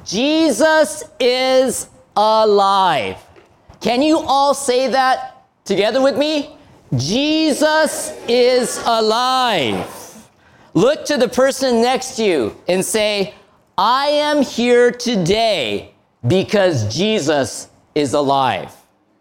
Jesus is alive. Can you all say that together with me? Jesus is alive. Look to the person next to you and say, I am here today because Jesus is alive.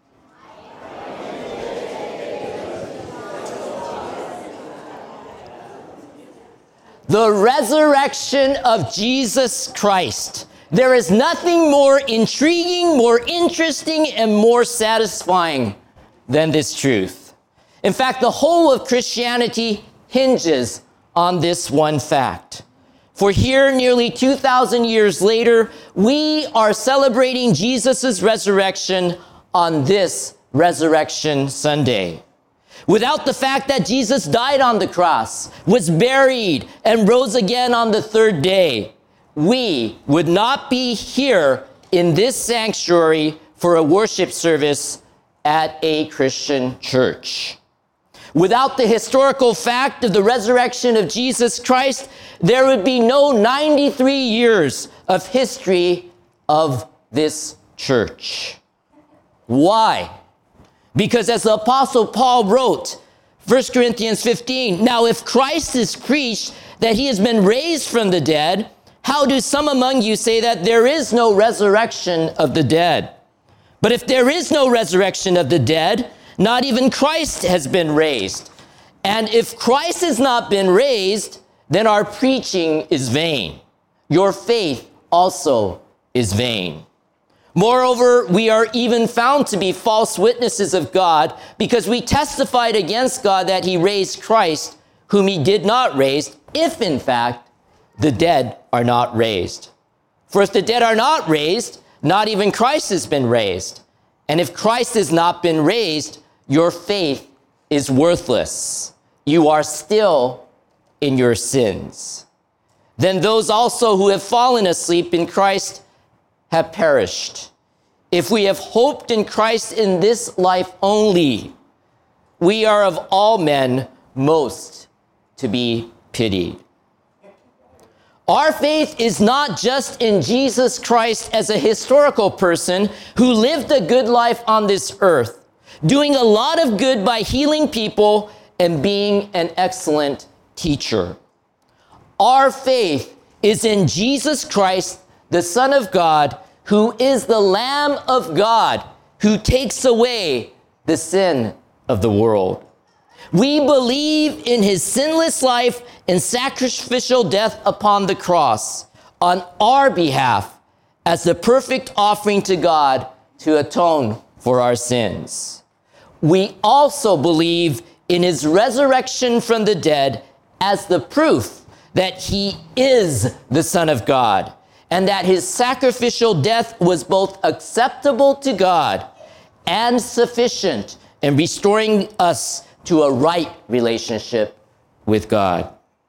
The resurrection of Jesus Christ. There is nothing more intriguing, more interesting, and more satisfying than this truth. In fact, the whole of Christianity hinges on this one fact. For here, nearly 2,000 years later, we are celebrating Jesus' resurrection on this Resurrection Sunday. Without the fact that Jesus died on the cross, was buried, and rose again on the third day, we would not be here in this sanctuary for a worship service at a Christian church. Without the historical fact of the resurrection of Jesus Christ, there would be no 93 years of history of this church. Why? Because as the Apostle Paul wrote, 1 Corinthians 15, now if Christ is preached that he has been raised from the dead, how do some among you say that there is no resurrection of the dead? But if there is no resurrection of the dead, not even Christ has been raised. And if Christ has not been raised, then our preaching is vain. Your faith also is vain. Moreover, we are even found to be false witnesses of God because we testified against God that he raised Christ, whom he did not raise, if in fact the dead are not raised. For if the dead are not raised, not even Christ has been raised. And if Christ has not been raised, your faith is worthless. You are still in your sins. Then those also who have fallen asleep in Christ have perished. If we have hoped in Christ in this life only, we are of all men most to be pitied. Our faith is not just in Jesus Christ as a historical person who lived a good life on this earth, doing a lot of good by healing people and being an excellent teacher. Our faith is in Jesus Christ, the Son of God, who is the Lamb of God, who takes away the sin of the world. We believe in his sinless life and sacrificial death upon the cross on our behalf as the perfect offering to God to atone for our sins. We also believe in his resurrection from the dead as the proof that he is the Son of God, and that his sacrificial death was both acceptable to God and sufficient in restoring us to a right relationship with God.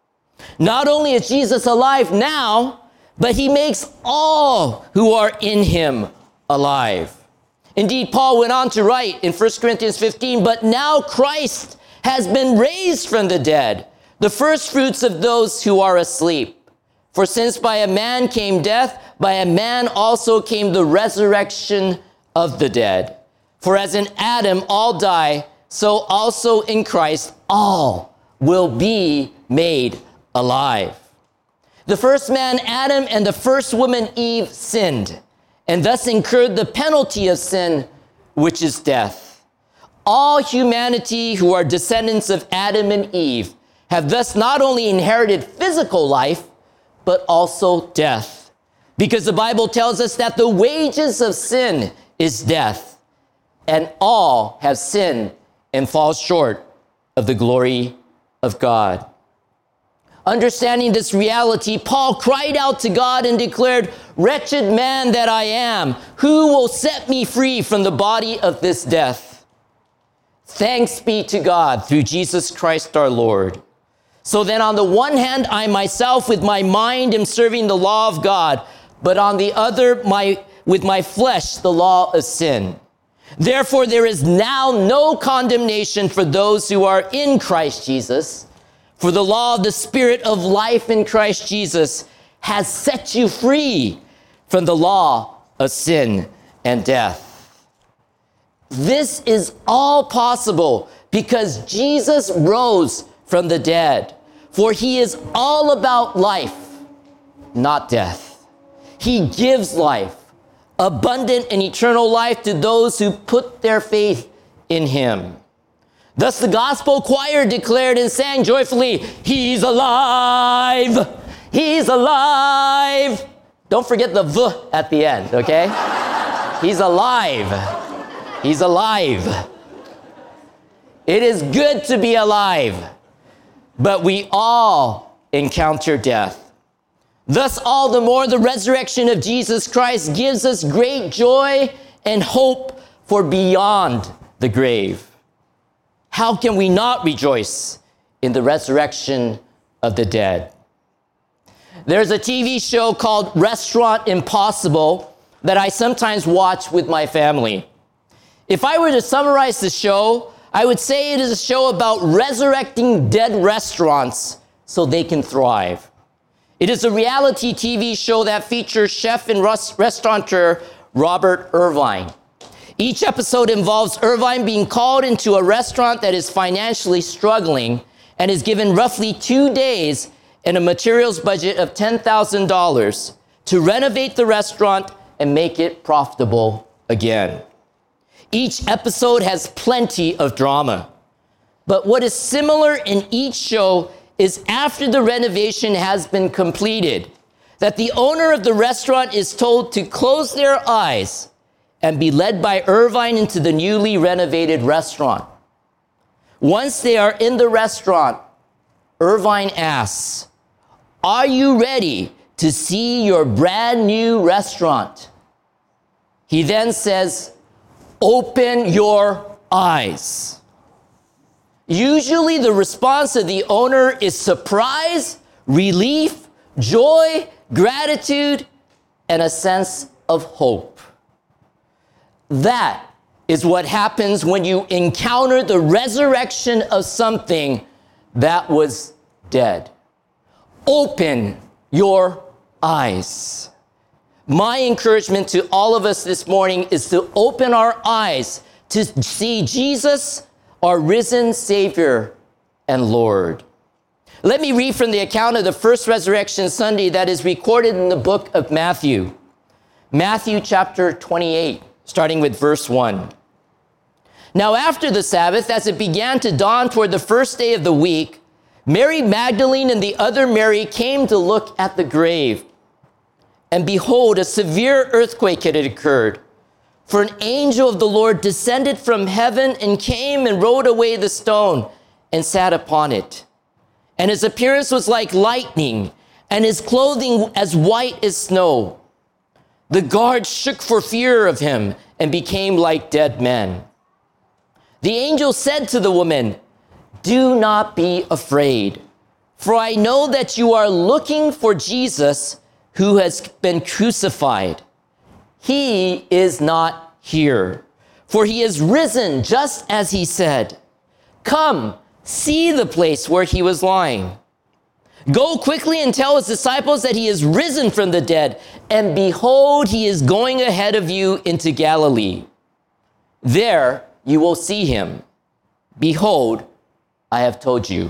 Not only is Jesus alive now, but he makes all who are in him alive. Indeed, Paul went on to write in 1 Corinthians 15, but now Christ has been raised from the dead, the first fruits of those who are asleep. For since by a man came death, by a man also came the resurrection of the dead. For as in Adam all die, so also in Christ all will be made alive. The first man, Adam, and the first woman, Eve, sinned, and thus incurred the penalty of sin, which is death. All humanity who are descendants of Adam and Eve have thus not only inherited physical life, but also death. Because the Bible tells us that the wages of sin is death, and all have sinned and fall short of the glory of God. Understanding this reality, Paul cried out to God and declared, "Wretched man that I am, who will set me free from the body of this death? Thanks be to God through Jesus Christ our Lord. So then on the one hand, I myself with my mind am serving the law of God, but on the other, with my flesh, the law of sin. Therefore, there is now no condemnation for those who are in Christ Jesus. For the law of the Spirit of life in Christ Jesus has set you free from the law of sin and death. This is all possible because Jesus rose from the dead, for he is all about life, not death. He gives life, abundant and eternal life to those who put their faith in him. Thus the gospel choir declared and sang joyfully, "He's alive! He's alive!" Don't forget the V at the end, okay? He's alive. He's alive. It is good to be alive, but we all encounter death. Thus, all the more, the resurrection of Jesus Christ gives us great joy and hope for beyond the grave. How can we not rejoice in the resurrection of the dead? There's a TV show called Restaurant Impossible that I sometimes watch with my family. If I were to summarize the show, I would say it is a show about resurrecting dead restaurants so they can thrive. It is a reality TV show that features chef and restaurateur Robert Irvine. Each episode involves Irvine being called into a restaurant that is financially struggling and is given roughly 2 days and a materials budget of $10,000 to renovate the restaurant and make it profitable again. Each episode has plenty of drama. But what is similar in each show is after the renovation has been completed, that the owner of the restaurant is told to close their eyes and be led by Irvine into the newly renovated restaurant. Once they are in the restaurant, Irvine asks, "Are you ready to see your brand new restaurant?" He then says, "Open your eyes." Usually the response of the owner is surprise, relief, joy, gratitude, and a sense of hope. That is what happens when you encounter the resurrection of something that was dead. Open your eyes. My encouragement to all of us this morning is to open our eyes to see Jesus, our risen Savior and Lord. Let me read from the account of the first Resurrection Sunday that is recorded in the book of Matthew. Matthew chapter 28, starting with verse 1. Now after the Sabbath, as it began to dawn toward the first day of the week, Mary Magdalene and the other Mary came to look at the grave. And behold, a severe earthquake had occurred. For an angel of the Lord descended from heaven and came and rolled away the stone and sat upon it. And his appearance was like lightning, and his clothing as white as snow. The guards shook for fear of him and became like dead men. The angel said to the woman, "Do not be afraid, for I know that you are looking for Jesus who has been crucified. He is not here, for he is risen just as he said. Come, see the place where he was lying. Go quickly and tell his disciples that he is risen from the dead, and behold, he is going ahead of you into Galilee. There you will see him. Behold, I have told you."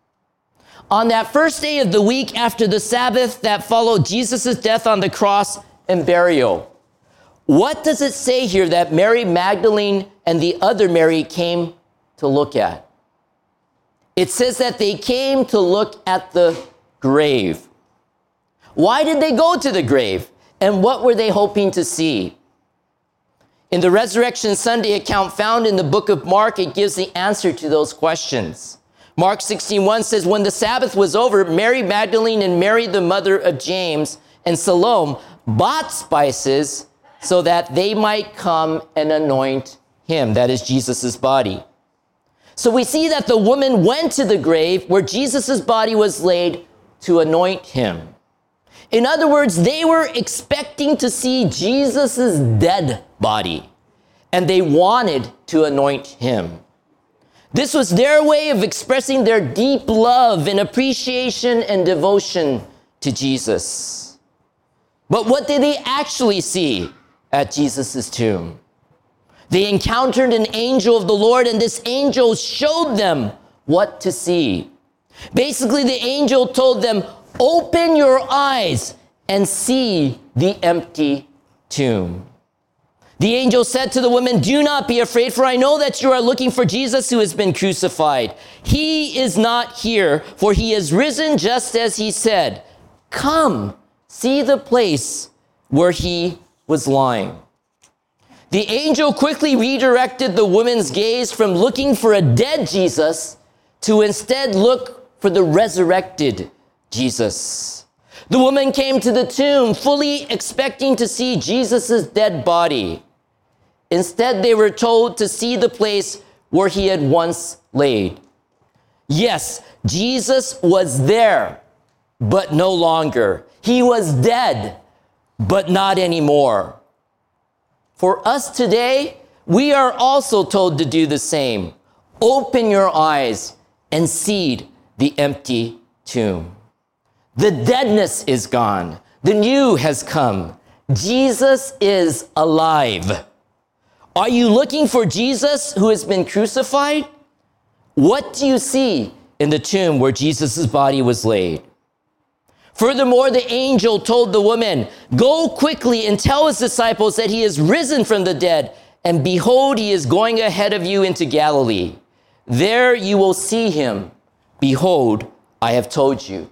On that first day of the week after the Sabbath that followed Jesus' death on the cross and burial, what does it say here that Mary Magdalene and the other Mary came to look at? It says that they came to look at the grave. Why did they go to the grave? And what were they hoping to see? In the Resurrection Sunday account found in the book of Mark, it gives the answer to those questions. Mark 16:1 says, when the Sabbath was over, Mary Magdalene and Mary, the mother of James, and Salome bought spices so that they might come and anoint him, that is Jesus' body. So we see that the woman went to the grave where Jesus' body was laid to anoint him. In other words, they were expecting to see Jesus' dead body, and they wanted to anoint him. This was their way of expressing their deep love and appreciation and devotion to Jesus. But what did they actually see at Jesus' tomb? They encountered an angel of the Lord, and this angel showed them what to see. Basically, the angel told them, open your eyes and see the empty tomb. The angel said to the women, do not be afraid, for I know that you are looking for Jesus who has been crucified. He is not here, for he is risen just as he said. Come, see the place where he was lying. The angel quickly redirected the woman's gaze from looking for a dead Jesus to instead look for the resurrected Jesus. The woman came to the tomb fully expecting to see Jesus' dead body. Instead, they were told to see the place where he had once laid. Yes, Jesus was there, but no longer. He was dead, but not anymore. For us today, we are also told to do the same. Open your eyes and see the empty tomb. The deadness is gone. The new has come. Jesus is alive. Are you looking for Jesus who has been crucified? What do you see in the tomb where Jesus' body was laid? Furthermore, the angel told the woman, go quickly and tell his disciples that he is risen from the dead, and behold, he is going ahead of you into Galilee. There you will see him. Behold, I have told you.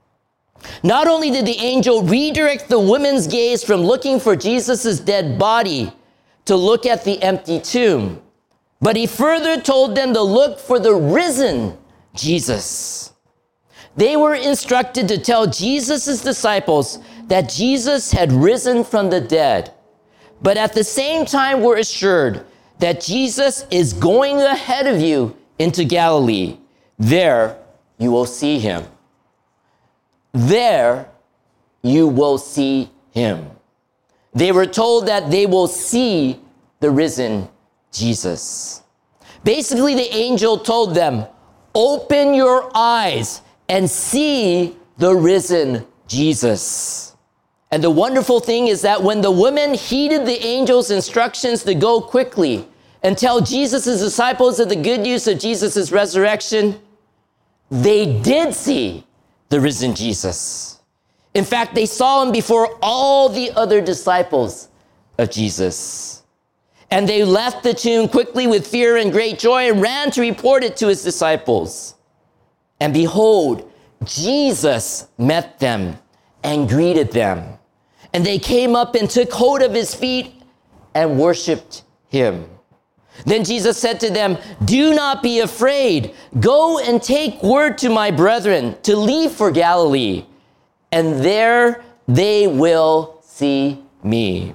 Not only did the angel redirect the woman's gaze from looking for Jesus' dead body to look at the empty tomb, but he further told them to look for the risen Jesus. They were instructed to tell Jesus' disciples that Jesus had risen from the dead, but at the same time were assured that Jesus is going ahead of you into Galilee. There you will see him. There you will see him. They were told that they will see the risen Jesus. Basically, the angel told them, open your eyes and see the risen Jesus. And the wonderful thing is that when the women heeded the angel's instructions to go quickly and tell Jesus' disciples of the good news of Jesus' resurrection, they did see the risen Jesus. In fact, they saw him before all the other disciples of Jesus. And they left the tomb quickly with fear and great joy and ran to report it to his disciples. And behold, Jesus met them and greeted them. And they came up and took hold of his feet and worshiped him. Then Jesus said to them, do not be afraid. Go and take word to my brethren to leave for Galilee, and there they will see me.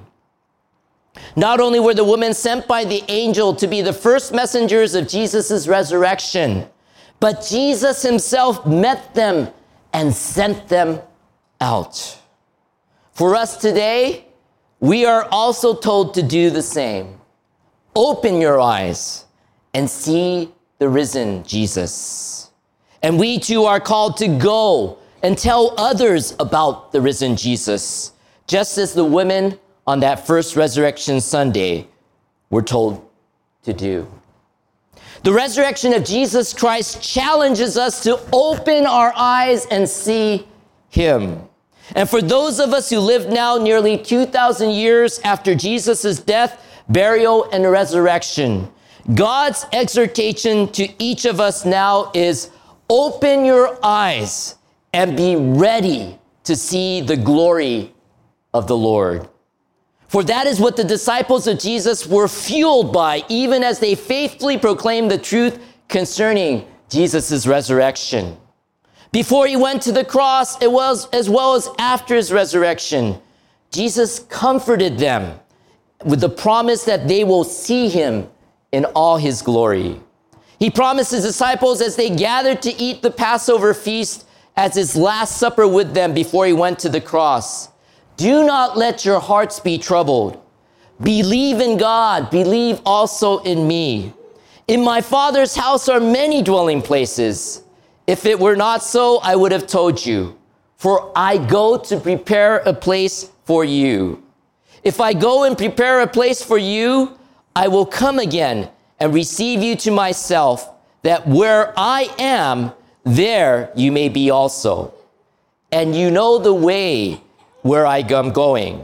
Not only were the women sent by the angel to be the first messengers of Jesus' resurrection, but Jesus himself met them and sent them out. For us today, we are also told to do the same. Open your eyes and see the risen Jesus. And we too are called to go and tell others about the risen Jesus, just as the women on that first Resurrection Sunday were told to do. The resurrection of Jesus Christ challenges us to open our eyes and see him. And for those of us who live now nearly 2,000 years after Jesus' death, burial, and resurrection, God's exhortation to each of us now is open your eyes and be ready to see the glory of the Lord. For that is what the disciples of Jesus were fueled by, even as they faithfully proclaimed the truth concerning Jesus' resurrection. Before he went to the cross, it was as well as after his resurrection, Jesus comforted them with the promise that they will see him in all his glory. He promised his disciples as they gathered to eat the Passover feast as his last supper with them before he went to the cross. Do not let your hearts be troubled. Believe in God. Believe also in me. In my Father's house are many dwelling places. If it were not so, I would have told you. For I go to prepare a place for you. If I go and prepare a place for you, I will come again and receive you to myself, that where I am, there you may be also. And you know the way where I am going.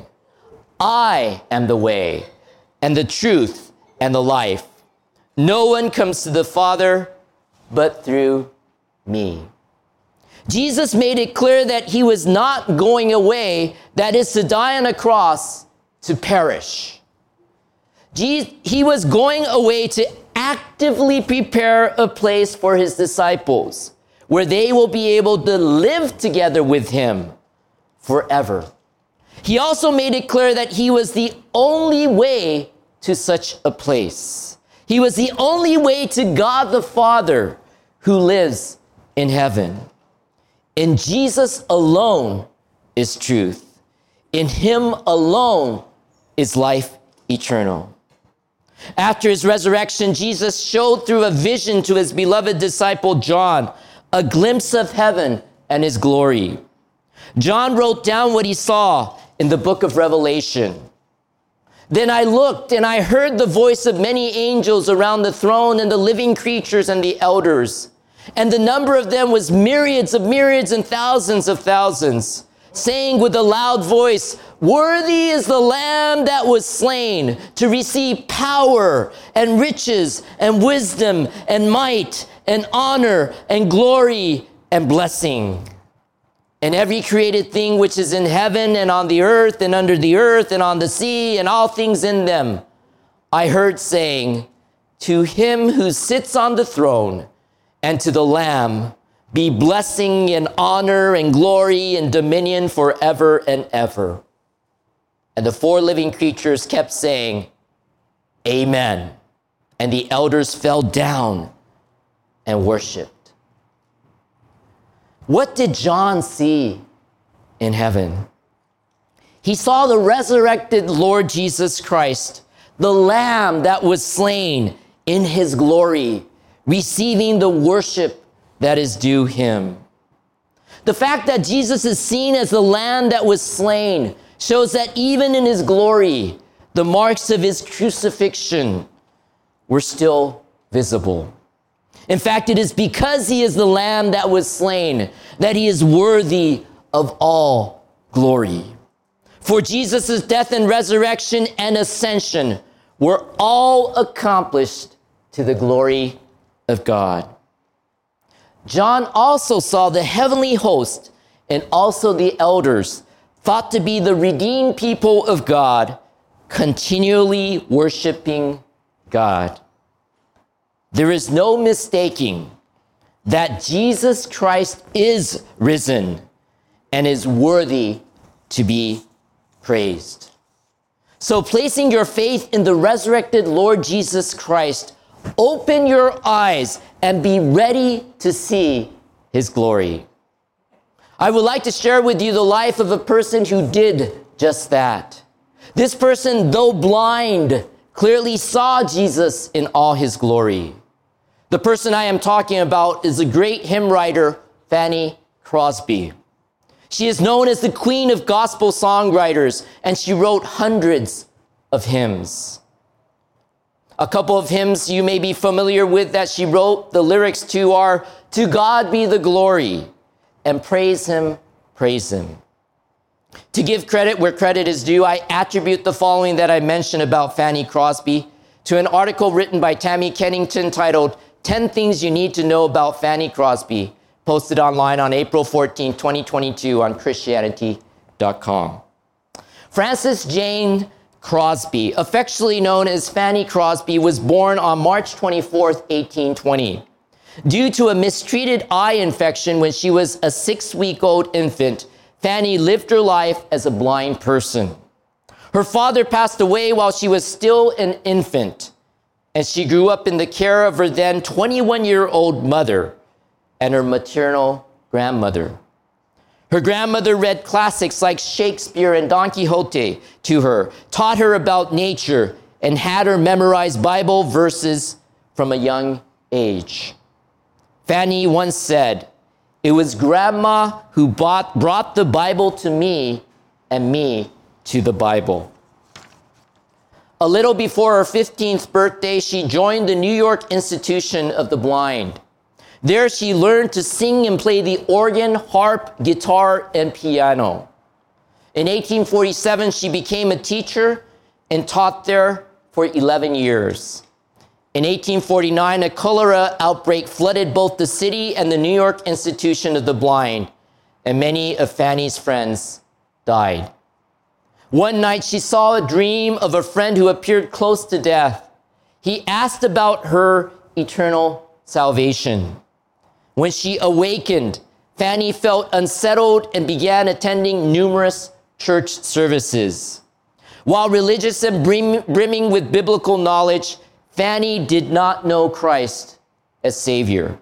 I am the way and the truth and the life. No one comes to the Father but through me. Jesus made it clear that he was not going away, that is to die on a cross, to perish. He was going away to actively prepare a place for his disciples where they will be able to live together with him forever. He also made it clear that he was the only way to such a place. He was the only way to God the Father who lives in heaven. In Jesus alone is truth. In him alone is life eternal. After his resurrection, Jesus showed through a vision to his beloved disciple John a glimpse of heaven and his glory. John wrote down what he saw in the book of Revelation. Then I looked and I heard the voice of many angels around the throne and the living creatures and the elders. And the number of them was myriads of myriads and thousands of thousands, saying with a loud voice, "Worthy is the Lamb that was slain to receive power and riches and wisdom and might and honor and glory and blessing." And every created thing which is in heaven and on the earth and under the earth and on the sea and all things in them, I heard saying, "To him who sits on the throne and to the Lamb be blessing and honor and glory and dominion forever and ever." And the four living creatures kept saying, "Amen." And the elders fell down and worshiped. What did John see in heaven? He saw the resurrected Lord Jesus Christ, the Lamb that was slain in his glory, receiving the worship that is due him. The fact that Jesus is seen as the Lamb that was slain shows that even in his glory, the marks of his crucifixion were still visible. In fact, it is because he is the Lamb that was slain that he is worthy of all glory. For Jesus' death and resurrection and ascension were all accomplished to the glory of God. John also saw the heavenly host and also the elders, thought to be the redeemed people of God, continually worshiping God. There is no mistaking that Jesus Christ is risen and is worthy to be praised. So placing your faith in the resurrected Lord Jesus Christ, open your eyes and be ready to see his glory. I would like to share with you the life of a person who did just that. This person, though blind, clearly saw Jesus in all his glory. The person I am talking about is the great hymn writer, Fanny Crosby. She is known as the queen of gospel songwriters, and she wrote hundreds of hymns. A couple of hymns you may be familiar with that she wrote, the lyrics to are, "To God be the glory," and "Praise him, praise him." To give credit where credit is due, I attribute the following that I mentioned about Fanny Crosby to an article written by Tammy Kennington titled 10 Things You Need to Know About Fanny Crosby, posted online on April 14, 2022 on Christianity.com. Frances Jane Crosby, affectionately known as Fanny Crosby, was born on March 24, 1820. Due to a mistreated eye infection when she was a 6-week-old infant, Fanny lived her life as a blind person. Her father passed away while she was still an infant, and she grew up in the care of her then 21-year-old mother and her maternal grandmother. Her grandmother read classics like Shakespeare and Don Quixote to her, taught her about nature, and had her memorize Bible verses from a young age. Fanny once said, "It was Grandma who brought the Bible to me and me to the Bible. A little before her 15th birthday, she joined the New York Institution of the Blind. There she learned to sing and play the organ, harp, guitar, and piano. In 1847, she became a teacher and taught there for 11 years. In 1849, a cholera outbreak flooded both the city and the New York Institution of the Blind, and many of Fanny's friends died. One night, she saw a dream of a friend who appeared close to death. He asked about her eternal salvation. When she awakened, Fanny felt unsettled and began attending numerous church services. While religious and brimming with biblical knowledge, Fanny did not know Christ as Savior.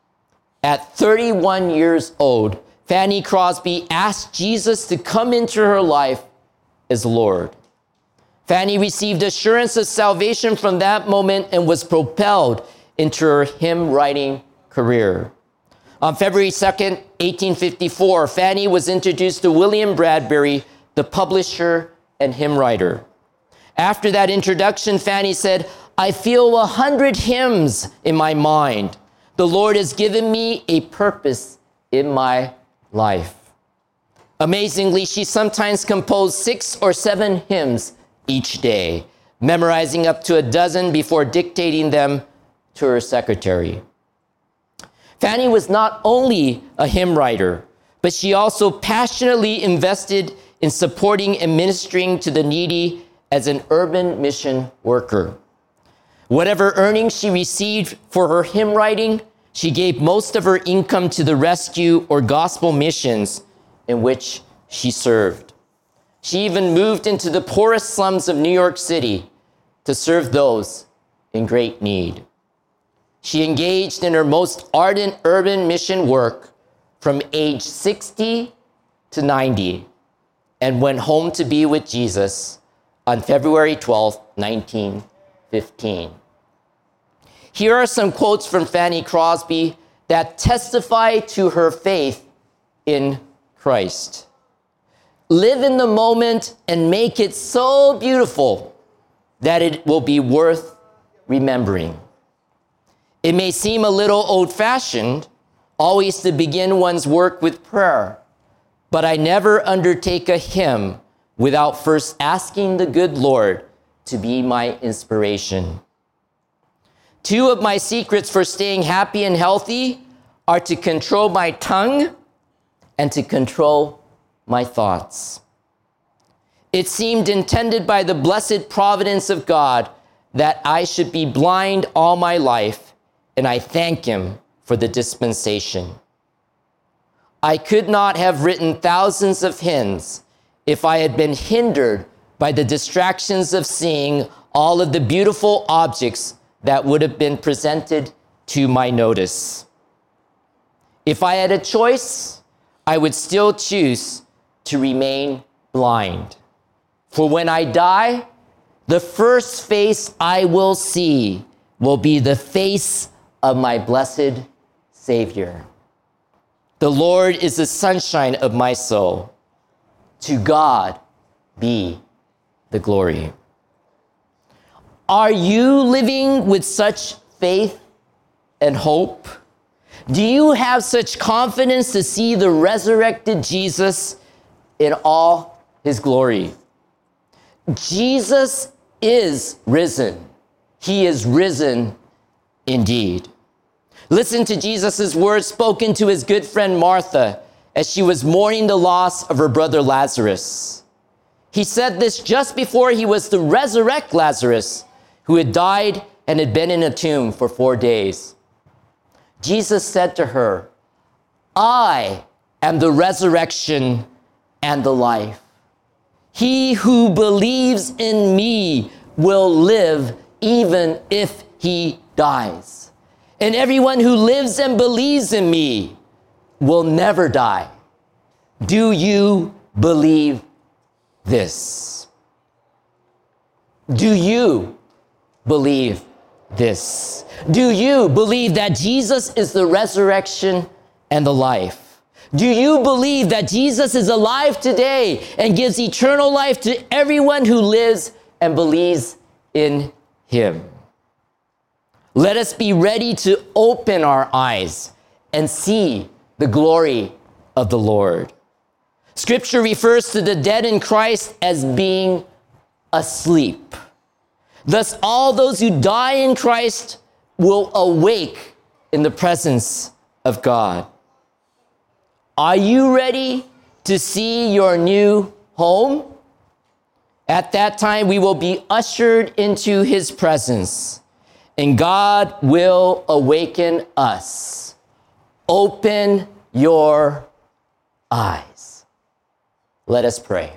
At 31 years old, Fanny Crosby asked Jesus to come into her life as Lord. Fanny received assurance of salvation from that moment and was propelled into her hymn writing career. On February 2nd, 1854, Fanny was introduced to William Bradbury, the publisher and hymn writer. After that introduction, Fanny said, "I feel 100 hymns in my mind. The Lord has given me a purpose in my life." Amazingly, she sometimes composed 6 or 7 hymns each day, memorizing up to a dozen before dictating them to her secretary. Fanny was not only a hymn writer, but she also passionately invested in supporting and ministering to the needy as an urban mission worker. Whatever earnings she received for her hymn writing, she gave most of her income to the rescue or gospel missions in which she served. She even moved into the poorest slums of New York City to serve those in great need. She engaged in her most ardent urban mission work from age 60 to 90 and went home to be with Jesus on February 12, 1915. Here are some quotes from Fanny Crosby that testify to her faith in Christ. "Live in the moment and make it so beautiful that it will be worth remembering. It may seem a little old-fashioned, always to begin one's work with prayer, but I never undertake a hymn without first asking the good Lord to be my inspiration. 2 of my secrets for staying happy and healthy are to control my tongue and to control my thoughts. It seemed intended by the blessed providence of God that I should be blind all my life, and I thank him for the dispensation. I could not have written thousands of hymns if I had been hindered by the distractions of seeing all of the beautiful objects that would have been presented to my notice. If I had a choice, I would still choose to remain blind. For when I die, the first face I will see will be the face of my blessed Savior. The Lord is the sunshine of my soul. To God be the glory." Are you living with such faith and hope? Do you have such confidence to see the resurrected Jesus in all his glory? Jesus is risen. He is risen indeed. Listen to Jesus' words spoken to his good friend Martha as she was mourning the loss of her brother Lazarus. He said this just before he was to resurrect Lazarus, who had died and had been in a tomb for 4 days. Jesus said to her, "I am the resurrection and the life. He who believes in me will live even if he dies. And everyone who lives and believes in me will never die." Do you believe this? Do you believe this? Do you believe that Jesus is the resurrection and the life? Do you believe that Jesus is alive today and gives eternal life to everyone who lives and believes in him? Let us be ready to open our eyes and see the glory of the Lord. Scripture refers to the dead in Christ as being asleep. Thus, all those who die in Christ will awake in the presence of God. Are you ready to see your new home? At that time, we will be ushered into his presence, and God will awaken us. Open your eyes. Let us pray.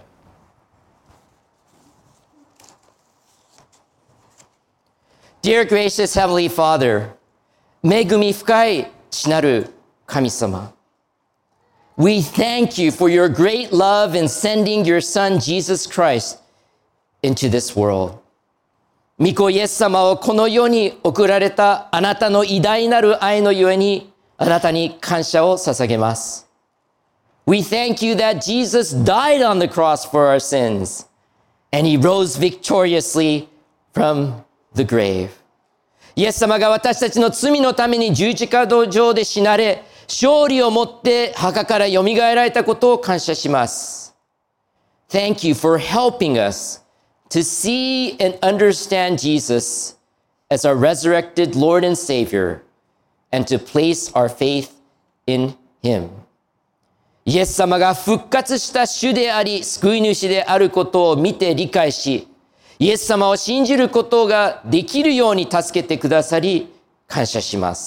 Dear gracious Heavenly Father, 恵み深い父なる神様。We thank you for your great love in sending your Son, Jesus Christ, into this world. 御子イエス様をこの世に送られたあなたの偉大なる愛のゆえに、あなたに感謝を捧げます。We thank you that Jesus died on the cross for our sins, and he rose victoriously from the grave. イエス様が私たちの罪のために十字架上で死なれ、勝利をもって墓からよみがえられたことを感謝します。Thank you for helping us to see and understand Jesus as our resurrected Lord and Savior and to place our faith in Him. イエス様が復活した主であり、救い主であることを見て理解し、イエス様を信じることができるように助けてくださり、感謝します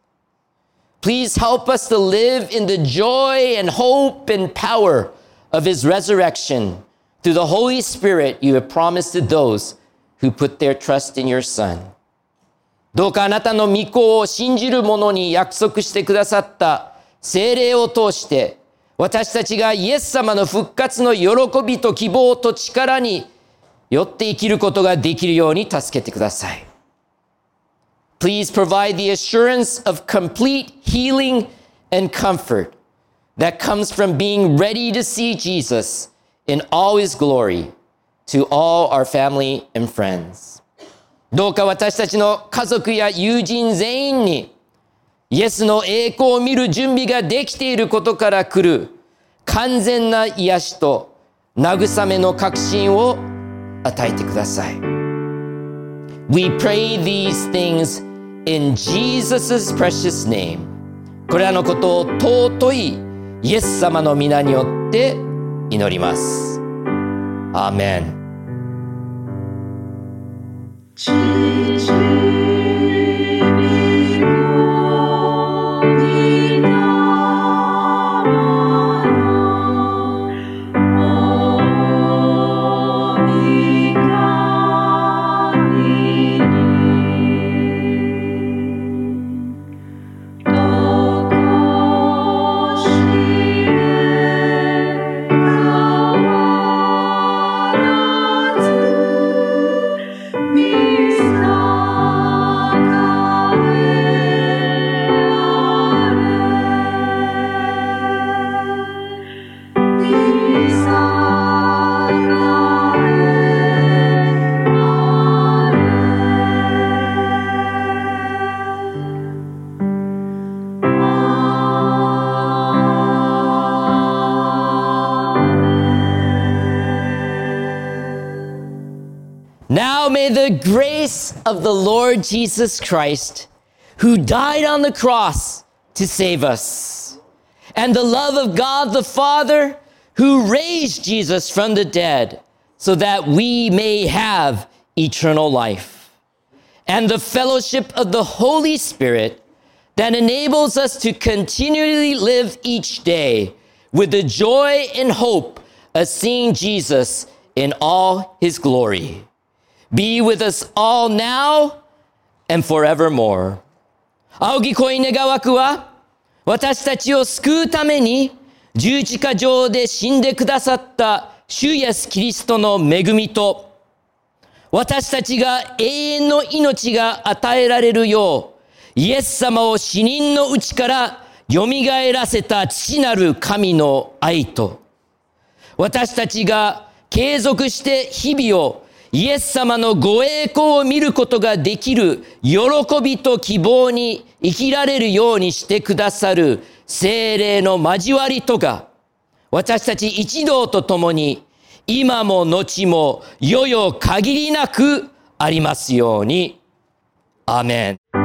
。Please help us to live in the joy and hope and power of His resurrection through the Holy Spirit you have promised to those who put their trust in your Son. どうかあなたの御子を信じる者に約束してくださった聖霊を通して、私たちがイエス様の復活の喜びと希望と力によって生きることができるように助けてください。Please provide the assurance of complete healing and comfort that comes from being ready to see Jesus in all His glory to all our family and friends. どうか私たちの家族や友人全員にイエスの栄光を見る準備ができていることから来る完全な癒しと慰めの確信を与えてください。We pray these things in Jesus' precious name. これらのことを尊いイエス様の皆によって祈ります。アーメン。Now may the grace of the Lord Jesus Christ, who died on the cross to save us, and the love of God the Father, who raised Jesus from the dead, so that we may have eternal life, and the fellowship of the Holy Spirit that enables us to continually live each day with the joy and hope of seeing Jesus in all His glory. Be with us all now and forevermore. 仰ぎ恋願わくは、私たちを救うために十字架上で死んでくださった主イエスキリストの恵みと、私たちが永遠の命が与えられるよう、イエス様を死人のうちからよみがえらせた父なる神の愛と、私たちが継続して日々をイエス様のご栄光を見ることができる喜びと希望に生きられるようにしてくださる聖霊の交わりとが、私たち一同と共に今も後も世々限りなくありますように。アーメン。